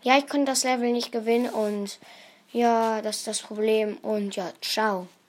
Ja, ich konnte das Level nicht gewinnen und ja, das ist das Problem und ja, ciao.